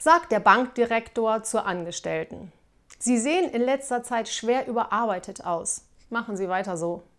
sagt der Bankdirektor zur Angestellten. Sie sehen in letzter Zeit schwer überarbeitet aus. Machen Sie weiter so.